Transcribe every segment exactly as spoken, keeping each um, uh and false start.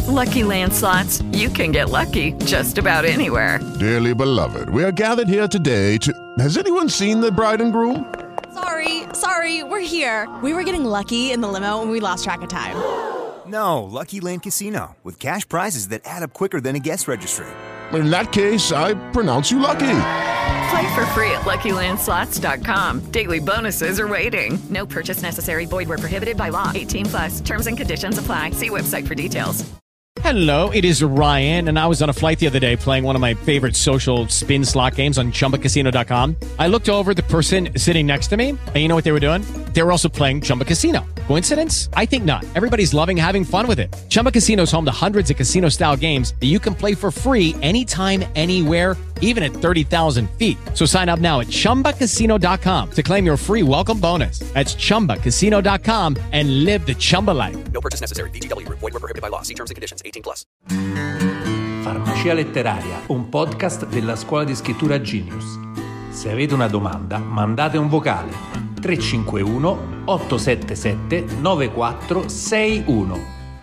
Lucky Land Slots, you can get lucky just about anywhere. Dearly beloved, we are gathered here today to... Has anyone seen the bride and groom? Sorry, sorry, we're here. We were getting lucky in the limo and we lost track of time. No, Lucky Land Casino, with cash prizes that add up quicker than a guest registry. In that case, I pronounce you lucky. Play for free at Lucky Land Slots dot com. Daily bonuses are waiting. No purchase necessary. Void where prohibited by law. eighteen plus. Terms and conditions apply. See website for details. Hello, it is Ryan, and I was on a flight the other day playing one of my favorite social spin slot games on Chumba Casino dot com. I looked over at the person sitting next to me, and you know what they were doing? They were also playing Chumba Casino. Coincidence? I think not. Everybody's loving having fun with it. Chumba Casino is home to hundreds of casino-style games that you can play for free anytime, anywhere, even at thirty thousand feet. So sign up now at Chumba Casino dot com to claim your free welcome bonus. That's Chumba Casino dot com and live the Chumba life. No purchase necessary. V G W. Void where prohibited by law. See terms and conditions. eighteen plus. Farmacia Letteraria, un podcast della scuola di scrittura Genius. Se avete una domanda, mandate un vocale tre cinque uno otto sette sette nove quattro sei uno.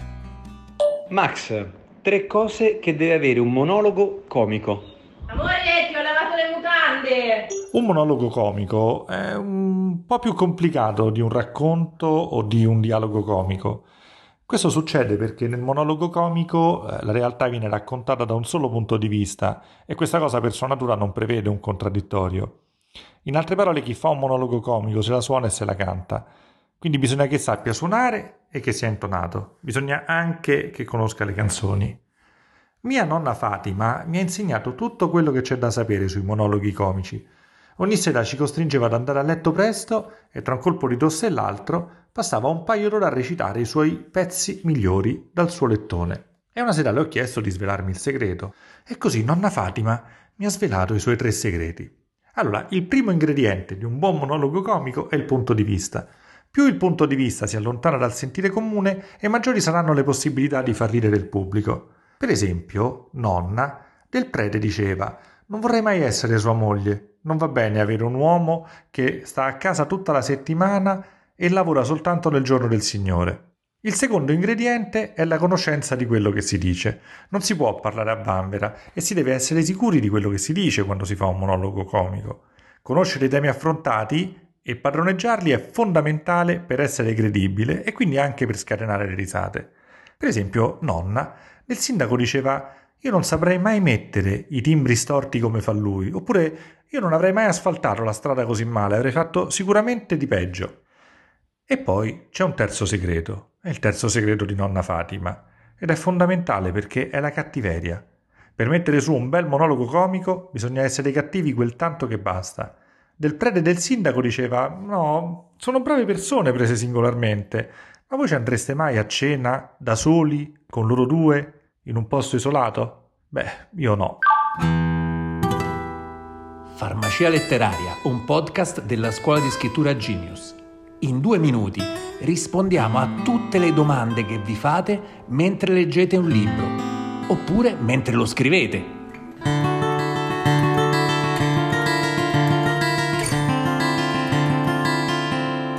Max, tre cose che deve avere un monologo comico. Amore, ti ho lavato le mutande! Un monologo comico è un po' più complicato di un racconto o di un dialogo comico. Questo succede perché nel monologo comico eh, la realtà viene raccontata da un solo punto di vista e questa cosa per sua natura non prevede un contraddittorio. In altre parole, chi fa un monologo comico se la suona e se la canta. Quindi bisogna che sappia suonare e che sia intonato. Bisogna anche che conosca le canzoni. Mia nonna Fatima mi ha insegnato tutto quello che c'è da sapere sui monologhi comici. Ogni sera ci costringeva ad andare a letto presto e tra un colpo di tosse e l'altro passava un paio d'ore a recitare i suoi pezzi migliori dal suo lettone. E una sera le ho chiesto di svelarmi il segreto e così nonna Fatima mi ha svelato i suoi tre segreti. Allora, il primo ingrediente di un buon monologo comico è il punto di vista. Più il punto di vista si allontana dal sentire comune e maggiori saranno le possibilità di far ridere il pubblico. Per esempio, nonna del prete diceva: non vorrei mai essere sua moglie, non va bene avere un uomo che sta a casa tutta la settimana e lavora soltanto nel giorno del Signore. Il secondo ingrediente è la conoscenza di quello che si dice. Non si può parlare a vanvera e si deve essere sicuri di quello che si dice quando si fa un monologo comico. Conoscere i temi affrontati e padroneggiarli è fondamentale per essere credibile e quindi anche per scatenare le risate. Per esempio, nonna del sindaco diceva: io non saprei mai mettere i timbri storti come fa lui, oppure io non avrei mai asfaltato la strada così male, avrei fatto sicuramente di peggio. E poi c'è un terzo segreto, è il terzo segreto di nonna Fatima, ed è fondamentale perché è la cattiveria. Per mettere su un bel monologo comico bisogna essere cattivi quel tanto che basta. Del prete e del sindaco diceva: no, sono brave persone prese singolarmente, ma voi ci andreste mai a cena da soli, con loro due, in un posto isolato? Beh, io no. Farmacia Letteraria, un podcast della scuola di scrittura Genius. In due minuti rispondiamo a tutte le domande che vi fate mentre leggete un libro, oppure mentre lo scrivete.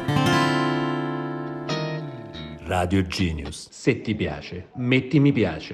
Radio Genius. Se ti piace, metti mi piace.